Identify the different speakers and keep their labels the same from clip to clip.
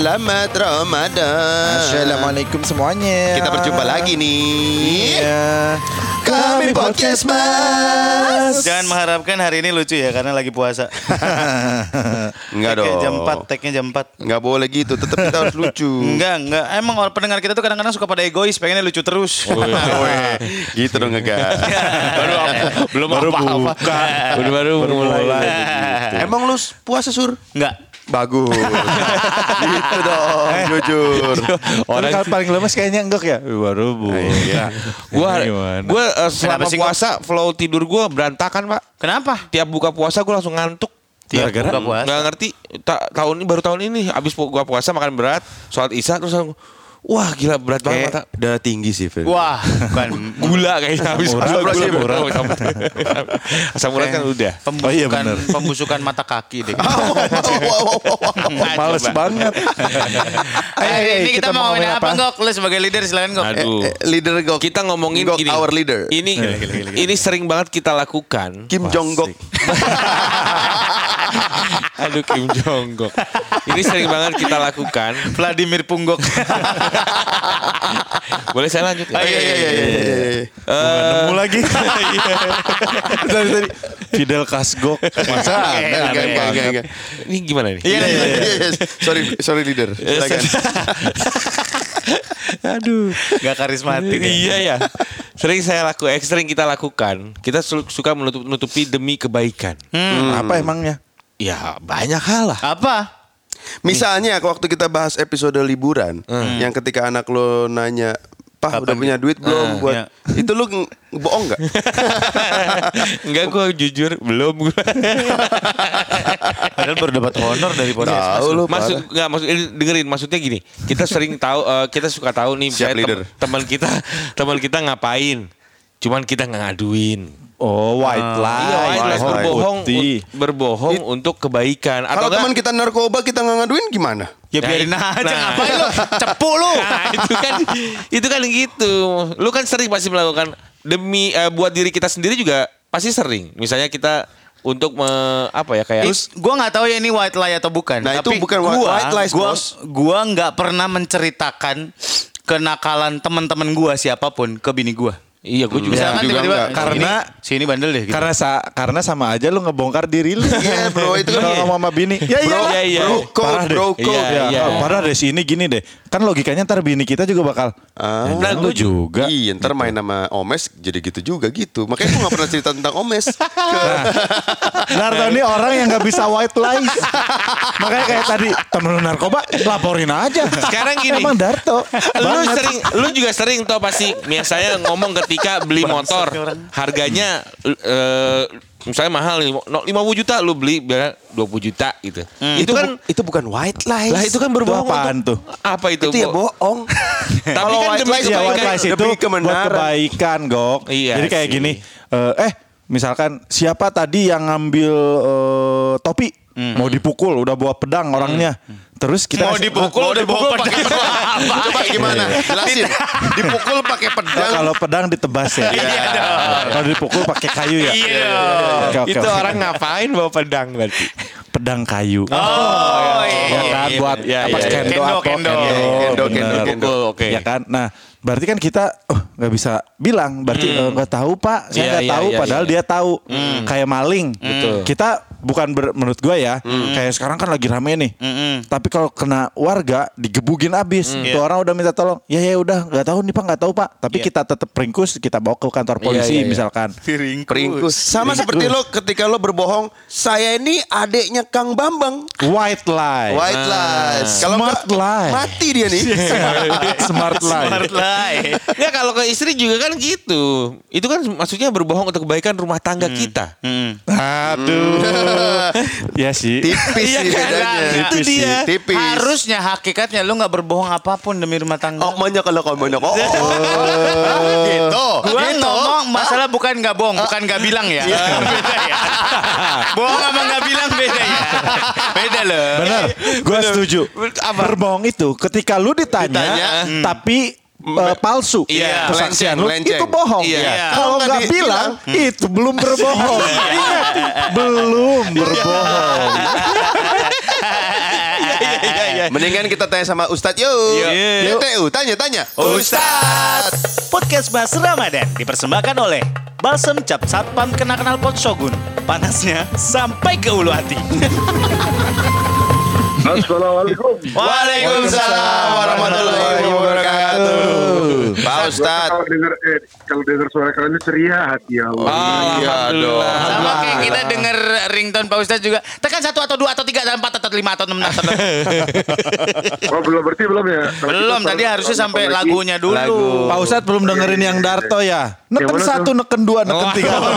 Speaker 1: selamat Ramadan.
Speaker 2: Assalamualaikum semuanya.
Speaker 1: Kita berjumpa lagi nih.
Speaker 2: Iya.
Speaker 1: Kami Podcast Mas.
Speaker 3: Jangan mengharapkan hari ini lucu ya karena lagi puasa.
Speaker 1: Enggak dong.
Speaker 3: Tag-nya jam 4.
Speaker 1: Enggak boleh gitu, tetap kita harus lucu.
Speaker 3: Enggak. Emang orang pendengar kita tuh kadang-kadang suka pada egois, pengennya lucu terus.
Speaker 1: Gitu dong enggak.
Speaker 2: Belum apa-apa. Baru mulai.
Speaker 1: Emang lu puasa Sur?
Speaker 3: Enggak.
Speaker 1: Bagus. Gitu dong, jujur.
Speaker 2: Orang kan paling lemes kayaknya enggak ya? Baru bu.
Speaker 4: Gue selama puasa flow tidur gue berantakan Pak.
Speaker 3: Kenapa?
Speaker 4: Tiap buka puasa gue langsung ngantuk.
Speaker 3: Gara-gara buka puasa.
Speaker 4: Nggak ngerti. Baru tahun ini abis gua puasa makan berat, sholat isya terus langsung, wah gila berat banget mata.
Speaker 1: Udah tinggi sih Phil.
Speaker 3: Wah, bukan
Speaker 4: Gula kayaknya habis
Speaker 1: Murah.
Speaker 4: Asam urat kan udah.
Speaker 3: Pembusukan mata kaki deh.
Speaker 2: Males banget.
Speaker 3: Ini kita mau ngomongin apa Gok? Lu sebagai leader silakan Gok.
Speaker 4: Aduh.
Speaker 1: Leader Gok.
Speaker 4: Kita ngomongin
Speaker 1: Gok,
Speaker 4: gini.
Speaker 1: our leader.
Speaker 4: Ini sering banget kita lakukan.
Speaker 1: Kim Jong Gok.
Speaker 4: Aduh Kim Jong Gok. Ini sering banget kita lakukan.
Speaker 3: Vladimir Punggok.
Speaker 4: Boleh saya lanjut ya?
Speaker 1: Iya.
Speaker 2: Nemu lagi. Tadi Fidel Kasgok. Masa?
Speaker 1: Enggak.
Speaker 4: Ini gimana nih?
Speaker 1: Iya. Sorry leader. Silakan.
Speaker 4: Aduh.
Speaker 3: Gak karismatik.
Speaker 4: Iya ya. Sering kita lakukan. Kita suka menutupi demi kebaikan.
Speaker 2: Apa emangnya?
Speaker 4: Ya banyak hal lah.
Speaker 3: Apa?
Speaker 1: Misalnya waktu kita bahas episode liburan, yang ketika anak lo nanya, "Pak, udah punya duit belum buat?" Itu lo bohong nggak?
Speaker 4: Enggak, gue jujur belum.
Speaker 3: Padahal baru dapat honor dari podcast.
Speaker 1: Tahu lo.
Speaker 4: Dengerin maksudnya gini. Kita sering tahu, kita suka tahu nih
Speaker 1: Siap, leader.
Speaker 4: teman kita ngapain. Cuman kita nggak ngaduin.
Speaker 2: Oh, white lies.
Speaker 4: Iya, white lies, berbohong
Speaker 2: It-
Speaker 4: untuk kebaikan.
Speaker 1: Kalau teman kita narkoba kita nggak ngaduin gimana?
Speaker 3: Ya biarin aja,
Speaker 4: Nah.
Speaker 3: ngapain lu? Cepu lu.
Speaker 4: Nah, itu kan gitu. Lu kan sering pasti melakukan demi buat diri kita sendiri juga pasti sering. Misalnya kita untuk kayak
Speaker 3: Gua nggak tahu ya ini white lie atau bukan.
Speaker 1: Nah,
Speaker 3: tapi
Speaker 1: itu bukan white lies, bos.
Speaker 3: Gua nggak pernah menceritakan kenakalan teman-teman gua siapapun ke bini gua.
Speaker 4: iya gue juga.
Speaker 3: Misalkan
Speaker 1: juga
Speaker 3: tiba-tiba
Speaker 1: enggak.
Speaker 2: Karena-
Speaker 3: si ini bandel deh. Gitu.
Speaker 2: Karena sama aja lu ngebongkar diri lu.
Speaker 1: Iya, bro, itu kan
Speaker 2: Kalau ngomong sama bini. Ya
Speaker 4: Iya.
Speaker 1: Bro code.
Speaker 4: Iya.
Speaker 2: Parah deh si ini gini deh. Kan logikanya ntar bini kita juga bakal.
Speaker 4: Nah,
Speaker 2: lu
Speaker 4: gue
Speaker 2: juga.
Speaker 1: Iya, ntar main sama Omes jadi gitu juga gitu. Makanya gue gak pernah cerita tentang Omes.
Speaker 2: Darto ini orang yang gak bisa white lies. Makanya kayak tadi temen lu narkoba laporin aja.
Speaker 4: Sekarang gini.
Speaker 2: Emang Darto.
Speaker 4: Lu juga sering tau pasti misalnya ngomong ketika beli motor harganya misalnya mahal 50 juta lu beli biar 20 juta gitu.
Speaker 1: Itu bukan white lies.
Speaker 4: Lah itu kan berbohong.
Speaker 2: apaan tuh?
Speaker 4: Apa itu?
Speaker 1: Itu ya bohong.
Speaker 4: Tapi
Speaker 1: Kalau
Speaker 4: kan
Speaker 1: white
Speaker 4: demi
Speaker 1: lies,
Speaker 2: Iya, white
Speaker 4: kebaikan.
Speaker 2: lies itu
Speaker 1: demi
Speaker 2: buat
Speaker 1: kebenaran.
Speaker 2: kebaikan, Gok.
Speaker 4: Iya
Speaker 2: Jadi kayak
Speaker 4: sih.
Speaker 2: gini, misalkan siapa tadi yang ngambil topi, mau dipukul, udah bawa pedang orangnya. Terus kita
Speaker 3: Mau dipukul pakai pedang.
Speaker 1: Coba gimana? Jelasin. Dipukul pakai pedang.
Speaker 2: kalau pedang ditebas ya. Kalau dipukul pakai kayu ya.
Speaker 3: Iya.
Speaker 2: Oke.
Speaker 4: Itu orang ngapain bawa pedang berarti?
Speaker 2: Pedang kayu.
Speaker 3: Oh,
Speaker 2: Ya kan buat apa kendo apa
Speaker 3: Kendo.
Speaker 2: bener.
Speaker 4: Pukul, oke.
Speaker 2: Ya kan. Nah, berarti kan kita nggak bisa bilang. Berarti nggak tahu Pak. Saya nggak tahu. Padahal dia tahu. Kayak maling.
Speaker 4: Betul.
Speaker 2: Kita bukan menurut gue ya. Kayak sekarang kan lagi rame nih. Tapi kalau kena warga digebugin abis. Tuh orang udah minta tolong. Ya udah nggak tahu nih Pak, nggak tahu Pak. Tapi kita tetap ringkus. Kita bawa ke kantor polisi misalkan.
Speaker 1: Peringkus. Sama seperti lo ketika lo berbohong, saya ini adeknya Kang Bambang.
Speaker 2: White lie.
Speaker 1: White lies. Kalau
Speaker 2: Smart
Speaker 1: nggak,
Speaker 2: lie.
Speaker 1: mati dia nih.
Speaker 2: Smart lie.
Speaker 3: Smart lie.
Speaker 4: Ya kalau ke istri juga kan gitu. Itu kan maksudnya berbohong untuk kebaikan rumah tangga kita.
Speaker 2: Aduh. Ya sih.
Speaker 1: Tipis
Speaker 4: Iya
Speaker 1: sih
Speaker 4: kan?
Speaker 1: bedanya.
Speaker 4: Itu
Speaker 2: Tipis sih.
Speaker 4: dia.
Speaker 1: Tipis.
Speaker 3: Harusnya hakikatnya lu nggak berbohong apapun demi rumah tangga.
Speaker 1: Oh, banyak kalau kamu banyak. Oh, gitu.
Speaker 3: Gua
Speaker 1: Gitu.
Speaker 3: ngomong masalah bukan nggak bohong, bukan nggak bilang ya. Beda ya. Bohong sama nggak bilang beda ya. Beda loh.
Speaker 2: Benar, gue setuju. Berbohong itu ketika lu ditanya. Tapi palsu
Speaker 4: Iya.
Speaker 2: kesaksian lu
Speaker 1: Melenceng.
Speaker 2: itu bohong.
Speaker 4: Iya.
Speaker 2: Kalau
Speaker 1: Kalau
Speaker 2: nggak
Speaker 1: nggak
Speaker 2: bilang itu belum berbohong. Ingat, belum berbohong.
Speaker 1: Mendingan kita tanya sama Ustadz yuk. YTU, tanya. Ustadz.
Speaker 3: Podcast Bahas Ramadan dipersembahkan oleh Balsem Cap Satpam Kenal Pot Shogun. Panasnya sampai ke ulu hati.
Speaker 5: Assalamualaikum.
Speaker 1: Waalaikumsalam warahmatullahi wabarakatuh. Pak Ustadz.
Speaker 5: Kalau dengar suara kalian ini ceria hati ya Allah.
Speaker 1: Iya dong.
Speaker 3: Sama kayak kita denger ringtone Pak Ustadz juga. Tekan 1 atau 2 atau 3 atau 4 atau 5 atau 6 atau 6.
Speaker 5: Oh belum ya?
Speaker 3: Belum, tadi harusnya sampai lagunya dulu.
Speaker 2: Pak Ustadz belum dengerin yang Darto ya. Neken 1, neken 2, neken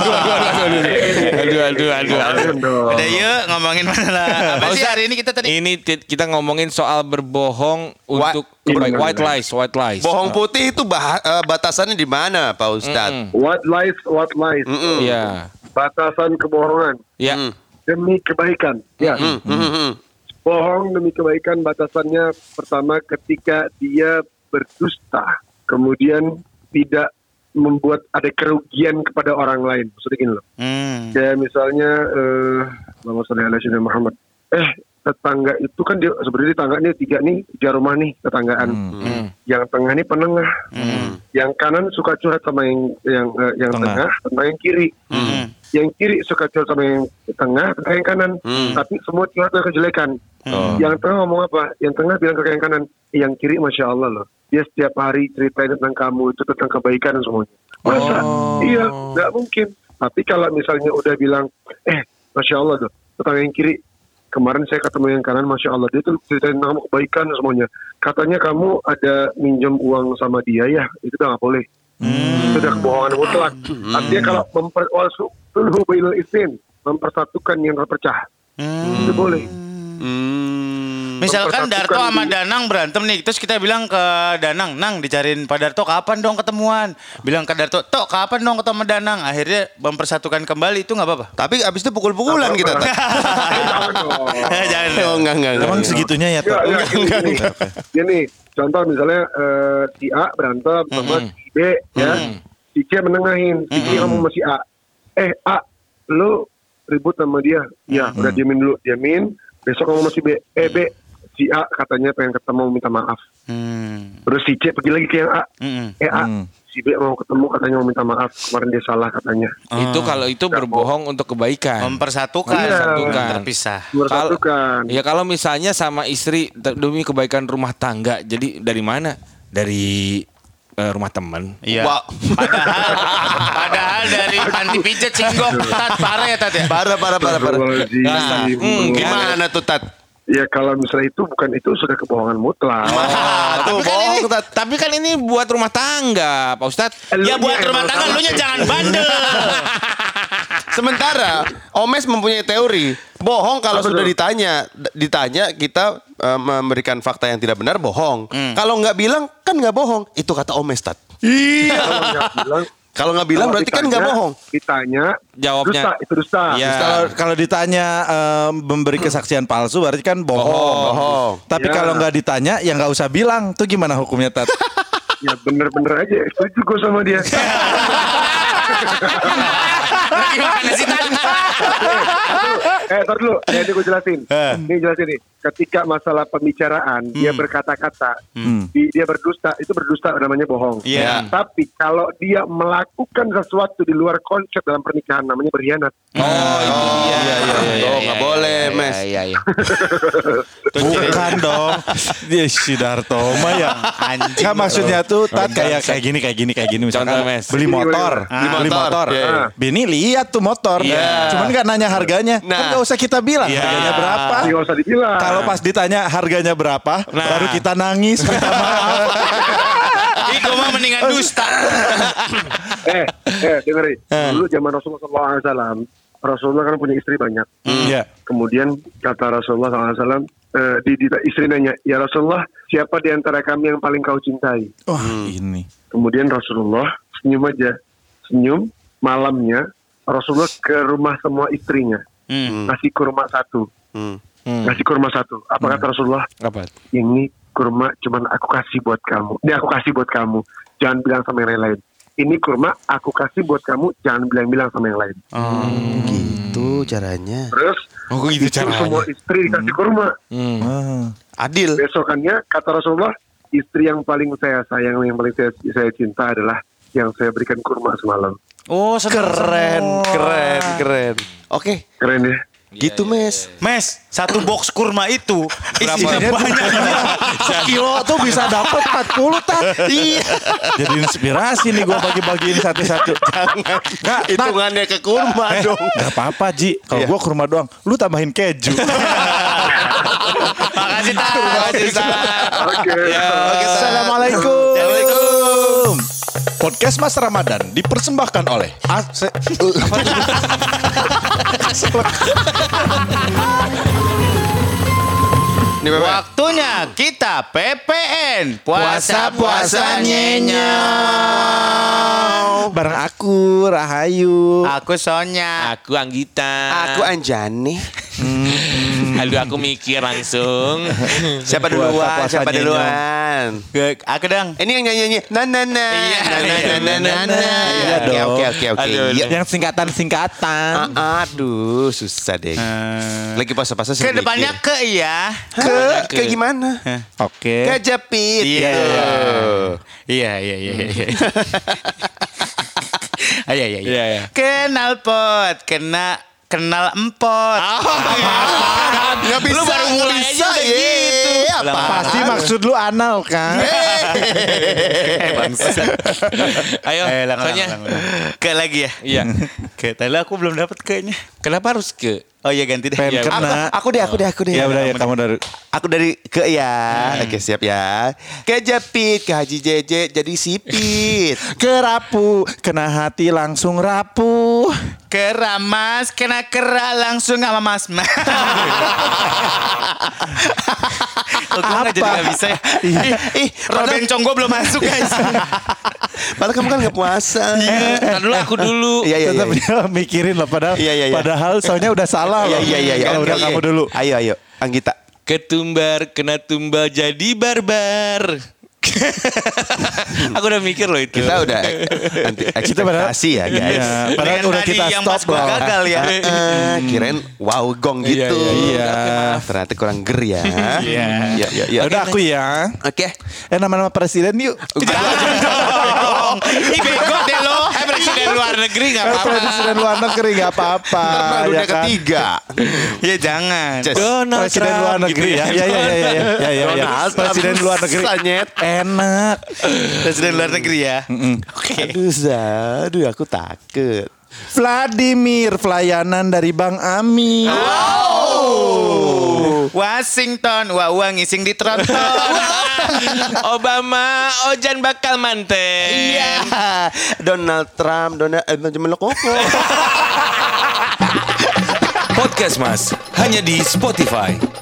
Speaker 2: 3.
Speaker 3: Aduh. Udah yuk ngomongin mana lah. Apa sih hari ini kita tadi?
Speaker 4: Ini kita ngomongin soal berbohong untuk white lies.
Speaker 1: Bohong putih itu batasannya di mana, Pak Ustadz?
Speaker 5: What lies?
Speaker 4: Iya.
Speaker 5: Batasan kebohongan
Speaker 4: Ya.
Speaker 5: demi kebaikan. Ya. Bohong demi kebaikan batasannya pertama ketika dia berdusta, kemudian tidak membuat ada kerugian kepada orang lain. Maksudnya gini loh. Kayak misalnya Allahumma sholli ala sayyidina Muhammad. Tetangga itu kan dia sebenarnya tetangga nih 3 rumah nih tetanggaan. Yang tengah nih penengah. Yang kanan suka curhat sama yang tengah sama yang kiri. Yang kiri suka curhat sama yang tengah, yang kanan. Tapi semua curhat kejelekan. Yang tengah ngomong apa? Yang tengah bilang ke yang kanan, yang kiri Masya Allah loh. Dia setiap hari ceritain tentang kamu, itu tentang kebaikan semuanya. Masa? Iya, gak mungkin. Tapi kalau misalnya udah bilang, Masya Allah loh, tentang yang kiri, kemarin saya ketemu yang kanan, Masya Allah, dia tuh ceritain tentang kamu kebaikan semuanya. Katanya kamu ada minjem uang sama dia ya, itu udah gak boleh. Itu udah kebohongan mutlak. Artinya kalau mempersatukan yang terpecah, itu boleh.
Speaker 3: Misalkan Darto sama Danang berantem nih, terus kita bilang ke Danang, Nang dicariin Pak Darto, kapan dong ketemuan? Bilang ke Darto, Tok kapan dong ketemu Danang? Akhirnya mempersatukan kembali, itu nggak apa-apa.
Speaker 1: Tapi abis itu pukul-pukulan kita.
Speaker 3: Jangan.
Speaker 1: Oh, enggak.
Speaker 2: Emang segitunya ya, Tok?
Speaker 5: Gini, contoh misalnya si A berantem sama si B, ya. Si C menengahin, si C ngomong sama si A. A, lu ribut sama dia. Ya, udah diamin. Besok ngomong sama si B. B, si A katanya pengen ketemu minta maaf. Terus si C pergi lagi ke yang A. A, si B mau ketemu katanya mau minta maaf. Kemarin dia salah katanya.
Speaker 4: Itu kalau itu berbohong untuk kebaikan.
Speaker 3: Mempersatukan. Terpisah.
Speaker 5: Mempersatukan.
Speaker 4: Ya kalau misalnya sama istri demi kebaikan rumah tangga. Jadi dari mana? Dari rumah teman.
Speaker 3: Iya. Wow. Padahal dari panti pijat Singgok. Tat, parah ya Tat ya?
Speaker 1: Parah. Gimana tuh Tat?
Speaker 5: Ya kalau misalnya itu bukan itu sudah kebohongan mutlak.
Speaker 4: Tapi kan ini buat rumah tangga, Pak Ustadz.
Speaker 3: Ya buat rumah tangga, lu nya jangan bandel.
Speaker 1: Sementara Omes mempunyai teori bohong kalau sudah ditanya kita memberikan fakta yang tidak benar bohong. Kalau nggak bilang kan nggak bohong. Itu kata Omes Tat. Iya. Kalau nggak bilang berarti kan nggak bohong.
Speaker 5: Ditanya,
Speaker 4: jawabnya
Speaker 5: dusta.
Speaker 2: Ya. Kalau ditanya memberi kesaksian palsu berarti kan bohong. Tapi kalau nggak ditanya ya nggak usah bilang. Tuh gimana hukumnya Tat?
Speaker 5: Ya bener-bener aja. Setuju gue sama dia.
Speaker 3: Gimana sih Tat?
Speaker 5: Ntar dulu, ini gue jelasin. Ini jelasin nih. Ketika masalah pembicaraan, dia berkata-kata, dia berdusta, itu berdusta namanya bohong. Tapi kalau dia melakukan sesuatu di luar konsep dalam pernikahan, namanya berkhianat.
Speaker 1: Nggak boleh, Mes.
Speaker 2: Bukan dong. Dia si Darto mah ya. Nggak maksudnya tuh Tat kayak gini. Misalkan
Speaker 4: Contoh, Mes.
Speaker 2: beli motor. Bini lihat tuh motor. Cuman nggak nanya harganya. Kan nggak usah kita bilang harganya berapa.
Speaker 5: Nggak usah dibilang.
Speaker 2: Kalau pas ditanya harganya berapa, baru kita nangis minta maaf.
Speaker 3: Itu mah mendingan dusta.
Speaker 5: Dengerin. Dulu zaman Rasulullah SAW, Rasulullah kan punya istri banyak. Kemudian kata Rasulullah SAW, istri nanya, ya Rasulullah, siapa di antara kami yang paling kau cintai?
Speaker 2: Ini.
Speaker 5: Kemudian Rasulullah senyum. Malamnya Rasulullah ke rumah semua istrinya, ngasih kurma satu. Apa kata Rasulullah?
Speaker 4: Apa?
Speaker 5: Ini kurma cuman aku kasih buat kamu. Ini aku kasih buat kamu. Jangan bilang sama yang lain. Ini kurma aku kasih buat kamu. Jangan bilang sama yang lain.
Speaker 1: Gitu caranya.
Speaker 5: Terus
Speaker 4: gitu caranya.
Speaker 5: semua istri dikasih kurma.
Speaker 1: Adil.
Speaker 5: Besokannya kata Rasulullah, istri yang paling saya sayang, yang paling saya cinta adalah yang saya berikan kurma semalam.
Speaker 3: Oh,
Speaker 1: Keren. Oke,
Speaker 5: Keren ya.
Speaker 1: gitu Mes.
Speaker 3: Mes, 1 box kurma itu isinya banyak.
Speaker 2: Kilo tuh bisa dapat 40 tak. Iya. Jadi inspirasi nih gue bagi-bagiin satu-satu. Nggak,
Speaker 1: Hitungannya ke kurma dong.
Speaker 2: Gak apa-apa Ji. Kalau gue kurma doang, lu tambahin keju.
Speaker 3: Makasih Tak.
Speaker 5: Oke.
Speaker 2: Assalamualaikum. Podcast Mas Ramadan dipersembahkan oleh
Speaker 1: Ini Bebe.
Speaker 3: Waktunya kita PPN. Puasa-puasa nyenyau.
Speaker 2: bareng aku Rahayu.
Speaker 3: Aku Sonya.
Speaker 4: Aku Anggita.
Speaker 1: Aku Anjani.
Speaker 4: Aduh aku mikir langsung.
Speaker 1: Siapa duluan? Siapa duluan?
Speaker 3: Aku dong.
Speaker 1: Ini yang nyanyi na na na.
Speaker 3: Iya.
Speaker 1: Oke.
Speaker 4: Aduh,
Speaker 1: Iya.
Speaker 2: Yang singkatan-singkatan.
Speaker 1: Aduh, susah deh. Lagi puasa-puasa sih.
Speaker 3: Ke depannya ke ya.
Speaker 1: ke gimana?
Speaker 2: Oke.
Speaker 1: Kejepit.
Speaker 3: Iya.
Speaker 1: gitu.
Speaker 3: Iya.
Speaker 4: Iya.
Speaker 3: Kenal pot, kenal empot.
Speaker 1: Nggak bisa.
Speaker 4: Lu baru mulai
Speaker 1: bisa
Speaker 4: aja udah
Speaker 1: ya.
Speaker 4: gitu.
Speaker 1: Apa?
Speaker 2: Pasti maksud lu anal kan?
Speaker 4: Ayo, Sonya.
Speaker 3: Ke lagi ya.
Speaker 4: Iya.
Speaker 3: Ke tadi aku belum dapat kayaknya.
Speaker 4: Kenapa harus ke?
Speaker 3: Oh iya ganti deh.
Speaker 2: Pengen
Speaker 3: Ya,
Speaker 2: kena.
Speaker 1: Aku deh.
Speaker 2: Ya udah ya kamu dari.
Speaker 1: Aku dari ke ya. Oke, siap ya. Kejepit, ke Haji Jeje jadi sipit.
Speaker 2: Kerapu, kena hati langsung rapuh.
Speaker 3: Keramas, kena kera langsung sama Mas. Apa? Jadi gak bisa ya. Roden conggo belum masuk guys.
Speaker 1: Padahal kamu kan nggak puasa.
Speaker 4: Ntar dulu aku dulu.
Speaker 1: Iya.
Speaker 2: Tetap dia mikirin lah padahal.
Speaker 1: Iya.
Speaker 2: Padahal soalnya udah salah loh.
Speaker 1: Iya.
Speaker 2: Kalau udah kamu dulu.
Speaker 1: Ayo, Anggita.
Speaker 4: Ketumbar, kena tumbal jadi barbar. Aku udah mikir loh itu.
Speaker 1: Kita udah anti ekspektasi ya guys.
Speaker 2: Iya, padahal
Speaker 3: Dengan
Speaker 2: udah
Speaker 3: tadi
Speaker 2: kita
Speaker 3: yang pas
Speaker 2: stop
Speaker 3: gua
Speaker 2: loh.
Speaker 3: gagal ya.
Speaker 1: Kirain wow gong gitu.
Speaker 2: Iya.
Speaker 1: Ternyata kurang ger ya.
Speaker 3: Iya.
Speaker 1: Iya.
Speaker 2: Ya udah aku ya.
Speaker 1: Oke.
Speaker 2: Nama-nama presiden yuk.
Speaker 3: Ih bego deh lo.
Speaker 4: Presiden luar negeri gak apa-apa.
Speaker 2: Presiden luar negeri gak apa-apa.
Speaker 1: Dunia
Speaker 2: ya kan?
Speaker 1: ketiga.
Speaker 3: Ya jangan.
Speaker 4: Donald
Speaker 2: Presiden
Speaker 4: Trump
Speaker 2: luar negeri
Speaker 4: gitu
Speaker 2: ya. Iya.
Speaker 1: Donald Trump.
Speaker 2: Presiden luar negeri.
Speaker 1: Sanyet.
Speaker 2: Enak.
Speaker 3: Presiden luar negeri ya.
Speaker 1: Aduh, aku takut.
Speaker 2: Vladimir, pelayanan dari Bang Ami.
Speaker 3: Washington, uang ngising di tronton.
Speaker 4: Obama, Ojan bakal manteng.
Speaker 1: Iya. Donald Trump,
Speaker 4: Podcast Mas, hanya di Spotify.